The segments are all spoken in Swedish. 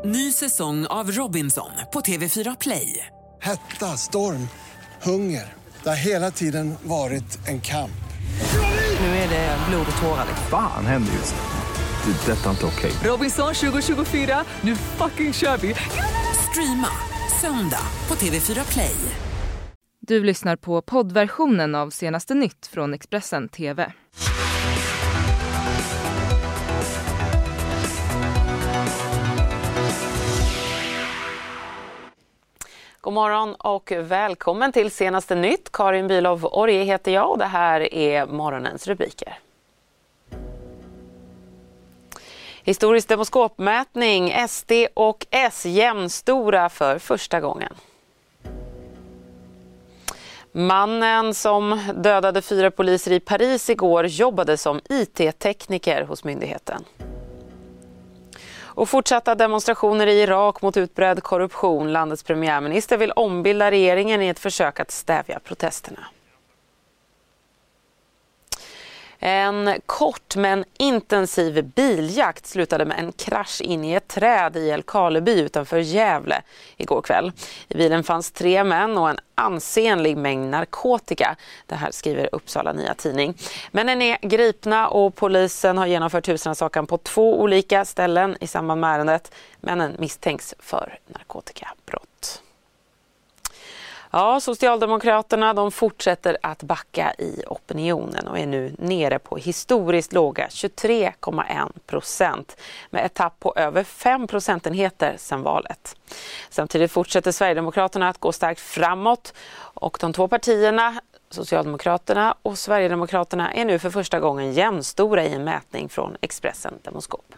Ny säsong av Robinson på TV4 Play. Hetta, storm, hunger. Det har hela tiden varit en kamp. Nu är det blod och tårar. Fan händer just nu. Det. Detta är inte okej. Robinson 2024, nu fucking kör vi. Streama söndag på TV4 Play. Du lyssnar på poddversionen av Senaste Nytt från Expressen TV. God morgon och välkommen till Senaste Nytt. Karin Bülow-Orje heter jag och det här är morgonens rubriker. Historisk demoskopmätning, SD och S jämnstora för första gången. Mannen som dödade 4 poliser i Paris igår jobbade som IT-tekniker hos myndigheten. Och fortsatta demonstrationer i Irak mot utbredd korruption. Landets premiärminister vill ombilda regeringen i ett försök att stävja protesterna. En kort men intensiv biljakt slutade med en krasch in i ett träd i Älvkarleby utanför Gävle igår kväll. I bilen fanns 3 män och en ansenlig mängd narkotika. Det här skriver Uppsala Nya Tidning. Männen är gripna och polisen har genomfört husrannsakan på 2 olika ställen i samband med ärendet. Männen misstänks för narkotikabrott. Ja, Socialdemokraterna de fortsätter att backa i opinionen och är nu nere på historiskt låga 23,1% med ett tapp på över 5 procentenheter sedan valet. Samtidigt fortsätter Sverigedemokraterna att gå starkt framåt och de 2 partierna, Socialdemokraterna och Sverigedemokraterna, är nu för första gången jämnstora i en mätning från Expressen Demoskop.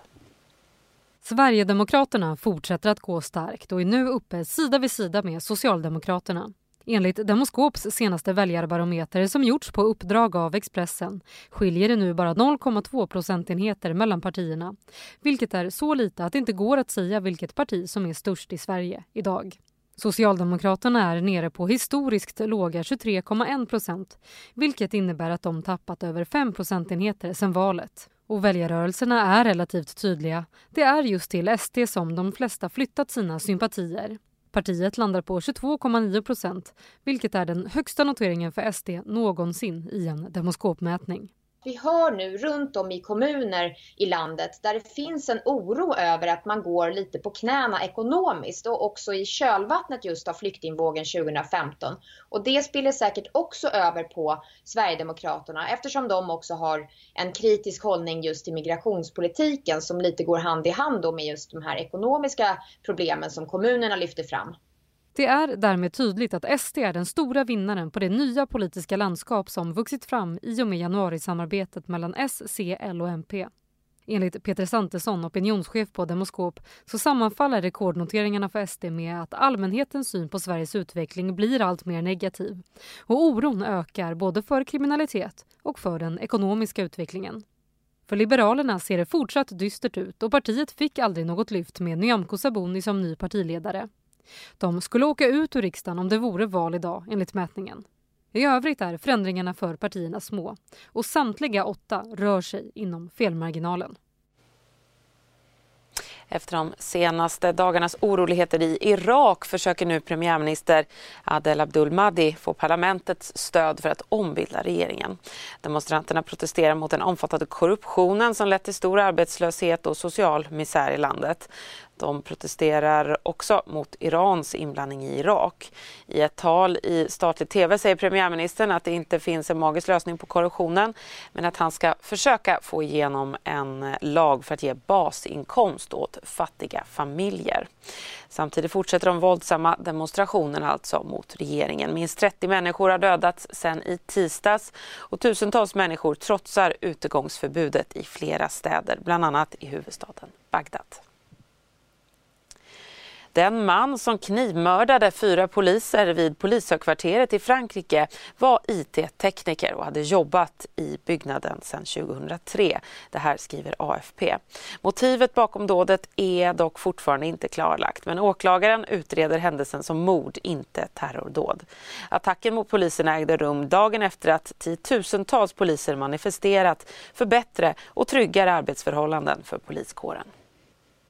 Sverigedemokraterna fortsätter att gå starkt och är nu uppe sida vid sida med Socialdemokraterna. Enligt Demoskops senaste väljarbarometer som gjorts på uppdrag av Expressen skiljer det nu bara 0,2 procentenheter mellan partierna, vilket är så lite att det inte går att säga vilket parti som är störst i Sverige idag. Socialdemokraterna är nere på historiskt låga 23,1%, vilket innebär att de tappat över 5 procentenheter sedan valet. Och väljarrörelserna är relativt tydliga. Det är just till SD som de flesta flyttat sina sympatier. Partiet landar på 22,9%, vilket är den högsta noteringen för SD någonsin i en demoskopmätning. Vi hör nu runt om i kommuner i landet där det finns en oro över att man går lite på knäna ekonomiskt och också i kölvattnet just av flyktingvågen 2015. Och det spiller säkert också över på Sverigedemokraterna eftersom de också har en kritisk hållning just till migrationspolitiken som lite går hand i hand med just de här ekonomiska problemen som kommunerna lyfter fram. Det är därmed tydligt att SD är den stora vinnaren på det nya politiska landskap som vuxit fram i och med januarisamarbetet mellan S, C, L och MP. Enligt Peter Santesson, opinionschef på Demoskop, så sammanfaller rekordnoteringarna för SD med att allmänhetens syn på Sveriges utveckling blir allt mer negativ. Och oron ökar både för kriminalitet och för den ekonomiska utvecklingen. För Liberalerna ser det fortsatt dystert ut och partiet fick aldrig något lyft med Nyamko Sabuni som ny partiledare. De skulle åka ut ur riksdagen om det vore val idag enligt mätningen. I övrigt är förändringarna för partierna små och samtliga 8 rör sig inom felmarginalen. Efter de senaste dagarnas oroligheter i Irak försöker nu premiärminister Adel Abdul Mahdi få parlamentets stöd för att ombilda regeringen. Demonstranterna protesterar mot den omfattande korruptionen som lett till stor arbetslöshet och social misär i landet. De protesterar också mot Irans inblandning i Irak. I ett tal i statlig tv säger premiärministern att det inte finns en magisk lösning på korruptionen, men att han ska försöka få igenom en lag för att ge basinkomst åt fattiga familjer. Samtidigt fortsätter de våldsamma demonstrationerna alltså mot regeringen. Minst 30 människor har dödats sedan i tisdags och tusentals människor trotsar utegångsförbudet i flera städer, bland annat i huvudstaden Bagdad. Den man som knivmördade 4 poliser vid polishögkvarteret i Frankrike var IT-tekniker och hade jobbat i byggnaden sedan 2003. Det här skriver AFP. Motivet bakom dådet är dock fortfarande inte klarlagt, men åklagaren utreder händelsen som mord, inte terrordåd. Attacken mot poliserna ägde rum dagen efter att 10-tusentals poliser manifesterat för bättre och tryggare arbetsförhållanden för poliskåren.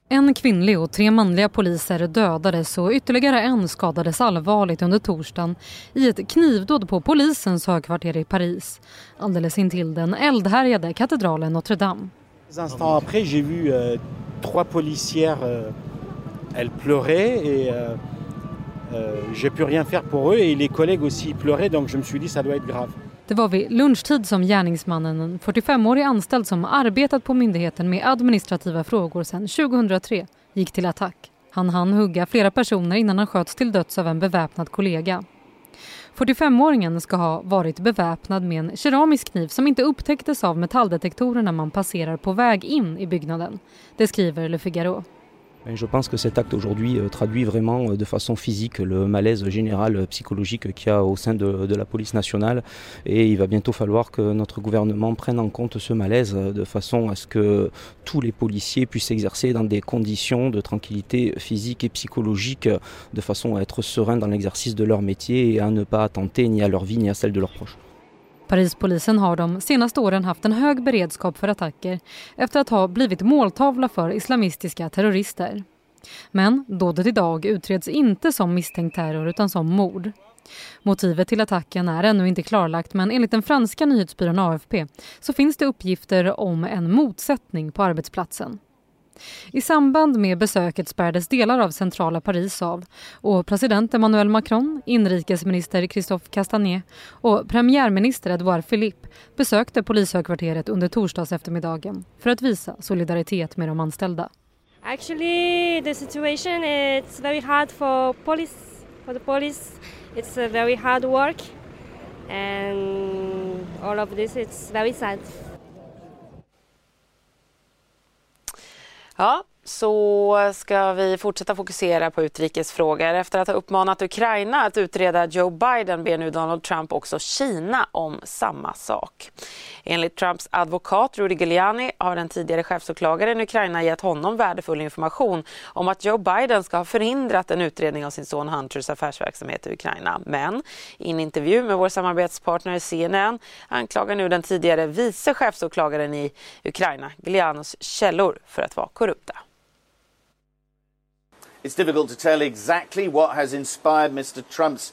En kvinnlig och 3 manliga poliser dödades och ytterligare en skadades allvarligt under torsdagen i ett knivdåd på polisens högkvarter i Paris, alldeles intill den eldhärjade katedralen Notre Dame. Un instant après, j'ai vu 3 policières, elles pleuraient et j'ai pu rien faire pour eux et les collègues aussi pleuraient, donc je me suis dit ça doit être grave. Det var vid lunchtid som gärningsmannen, en 45-årig anställd som arbetat på myndigheten med administrativa frågor sedan 2003, gick till attack. Han hann hugga flera personer innan han sköts till döds av en beväpnad kollega. 45-åringen ska ha varit beväpnad med en keramisk kniv som inte upptäcktes av metalldetektorer när man passerar på väg in i byggnaden. Det skriver Le Figaro. Je pense que cet acte aujourd'hui traduit vraiment de façon physique le malaise général psychologique qu'il y a au sein de la police nationale et il va bientôt falloir que notre gouvernement prenne en compte ce malaise de façon à ce que tous les policiers puissent exercer dans des conditions de tranquillité physique et psychologique de façon à être sereins dans l'exercice de leur métier et à ne pas attenter ni à leur vie ni à celle de leurs proches. Parispolisen har de senaste åren haft en hög beredskap för attacker efter att ha blivit måltavla för islamistiska terrorister. Men dådet idag utreds inte som misstänkt terror utan som mord. Motivet till attacken är ännu inte klarlagt, men enligt den franska nyhetsbyrån AFP så finns det uppgifter om en motsättning på arbetsplatsen. I samband med besöket spärrades delar av centrala Paris av och president Emmanuel Macron, inrikesminister Christophe Castanet och premiärminister Edouard Philippe besökte polishögkvarteret under torsdags eftermiddagen för att visa solidaritet med de anställda. Actually, the situation is very hard for the police. It's a very hard work and all of this it's very sad. Ja, så ska vi fortsätta fokusera på utrikesfrågor. Efter att ha uppmanat Ukraina att utreda Joe Biden ber nu Donald Trump också Kina om samma sak. Enligt Trumps advokat Rudy Giuliani har den tidigare chefsåklagaren i Ukraina gett honom värdefull information om att Joe Biden ska ha förhindrat en utredning av sin son Hunters affärsverksamhet i Ukraina. Men i en intervju med vår samarbetspartner CNN anklagar nu den tidigare vice chefsåklagaren i Ukraina Giulianos källor för att vara korrupta. It's difficult to tell exactly what has inspired Mr. Trump's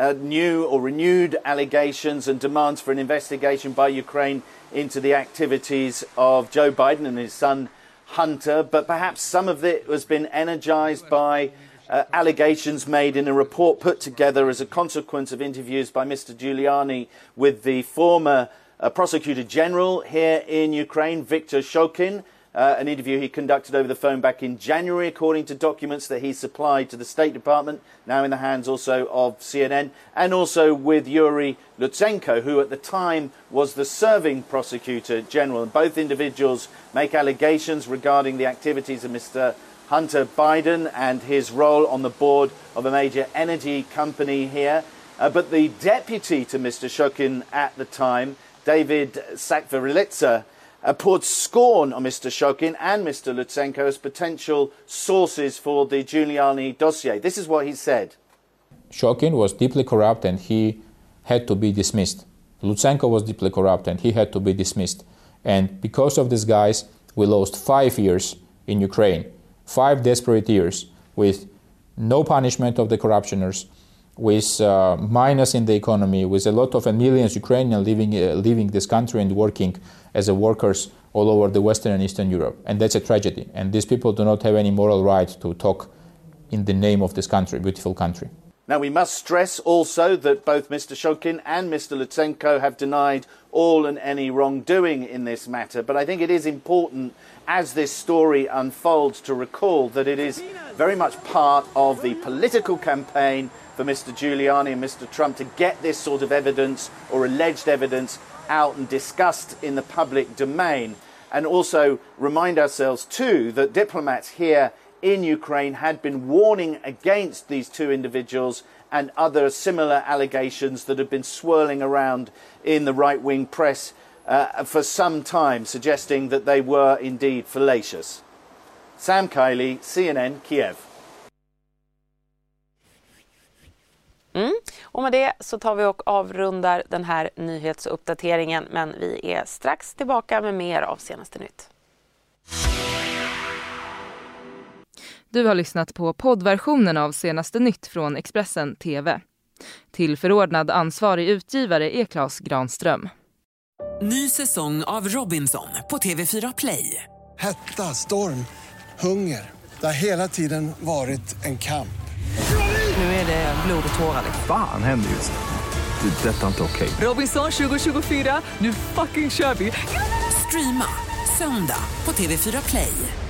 new or renewed allegations and demands for an investigation by Ukraine into the activities of Joe Biden and his son Hunter, but perhaps some of it has been energized by allegations made in a report put together as a consequence of interviews by Mr. Giuliani with the former prosecutor general here in Ukraine, Viktor Shokin. An interview he conducted over the phone back in January, according to documents that he supplied to the State Department, now in the hands also of CNN, and also with Yuri Lutsenko, who at the time was the serving prosecutor general. And both individuals make allegations regarding the activities of Mr. Hunter Biden and his role on the board of a major energy company here. But the deputy to Mr. Shokin at the time, David Sakvarilitsa, poured scorn on Mr. Shokin and Mr. Lutsenko as potential sources for the Giuliani dossier. This is what he said. Shokin was deeply corrupt and he had to be dismissed. Lutsenko was deeply corrupt and he had to be dismissed. And because of these guys, we lost 5 years in Ukraine. 5 desperate years with no punishment of the corruptioners, with minus in the economy, with a lot of millions of Ukrainians leaving this country and working as workers all over the Western and Eastern Europe. And that's a tragedy. And these people do not have any moral right to talk in the name of this country, beautiful country. Now, we must stress also that both Mr. Shokin and Mr. Lutsenko have denied all and any wrongdoing in this matter. But I think it is important, as this story unfolds, to recall that it is very much part of the political campaign for Mr. Giuliani and Mr. Trump to get this sort of evidence or alleged evidence out and discussed in the public domain. And also remind ourselves too that diplomats here in Ukraine had been warning against these two individuals and other similar allegations that have been swirling around in the right-wing press for some time, suggesting that they were indeed fallacious. Sam Kiley, CNN, Kiev. Och med det så tar vi och avrundar den här nyhetsuppdateringen, men vi är strax tillbaka med mer av senaste nytt. Du har lyssnat på poddversionen av Senaste nytt från Expressen TV. Till förordnad ansvarig utgivare är Claes Granström. Ny säsong av Robinson på TV4 Play. Hetta, storm, hunger. Det har hela tiden varit en kamp. Nu är det blod och tårar. Fan händer just nu. Detta är inte okej. Robinson 2024, nu fucking kör vi. Streama söndag på TV4 Play.